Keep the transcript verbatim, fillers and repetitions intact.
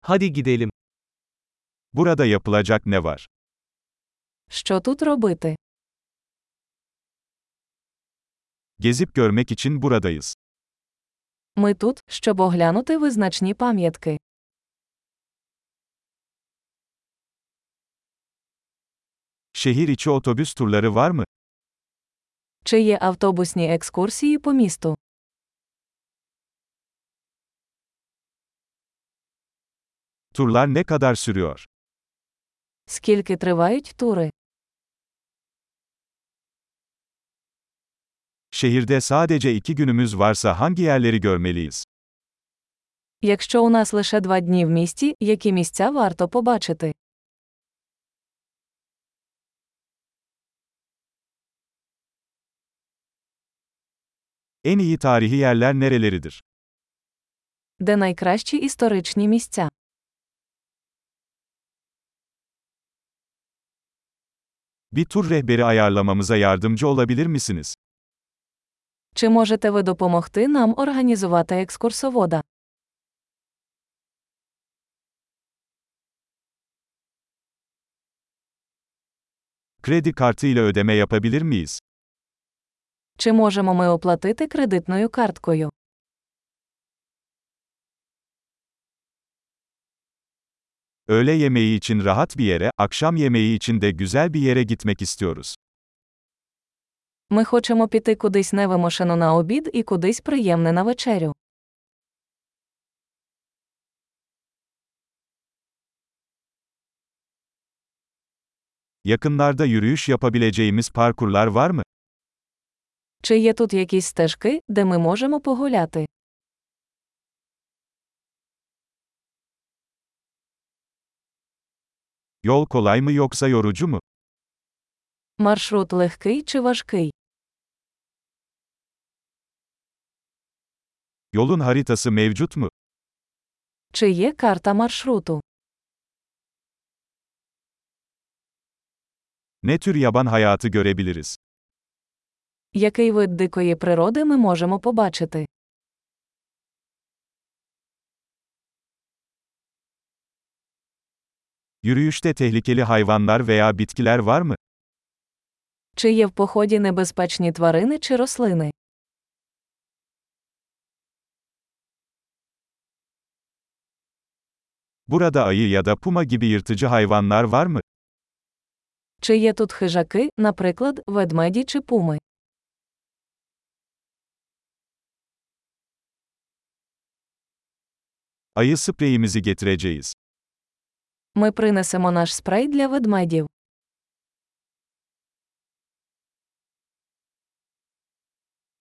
Hadi gidelim. Burada yapılacak ne var? Що тут робити? Gezip görmek için buradayız. Ми тут, щоб оглянути визначні пам'ятки. Şehir içi otobüs turları var mı? Чи є автобусні екскурсії по місту? Turlar ne kadar sürüyor? Скільки тривають тури? Şehirde sadece iki günümüz varsa hangi yerleri görmeliyiz? Якщо у нас лише два дні в місті, які місця варто побачити? En iyi tarihi yerler nereleridir? Де найкращі історичні місця? Bir tur rehberi ayarlamamıza yardımcı olabilir misiniz? Чи можете ви допомогти нам організувати екскурсовода? Kredi kartı ile ödeme yapabilir miyiz? Чи можемо ми оплатити кредитною карткою? Öğle yemeği için rahat bir yere, akşam yemeği için de güzel bir yere gitmek istiyoruz. Ми хочемо піти кудись невимушено на обід і кудись приємне на вечерю. Yakınlarda yürüyüş yapabileceğimiz parkurlar var mı? Чи є тут якісь стежки, де ми можемо погуляти? Yol kolay mı yoksa yorucu mu? Маршрут легкий чи важкий? Yolun haritası mevcut mu? Чи є карта маршруту? Ne tür yaban hayatı görebiliriz? Який вид дикої природи ми можемо побачити? Yürüyüşte tehlikeli hayvanlar veya bitkiler var mı? Чи є в поході небезпечні тварини чи рослини? Burada ayı ya da puma gibi yırtıcı hayvanlar var mı? Чи є тут хижаки, наприклад, ведмеді чи пуми? Ayı spreyimizi getireceğiz. Ми принесемо наш спрей для ведмедів.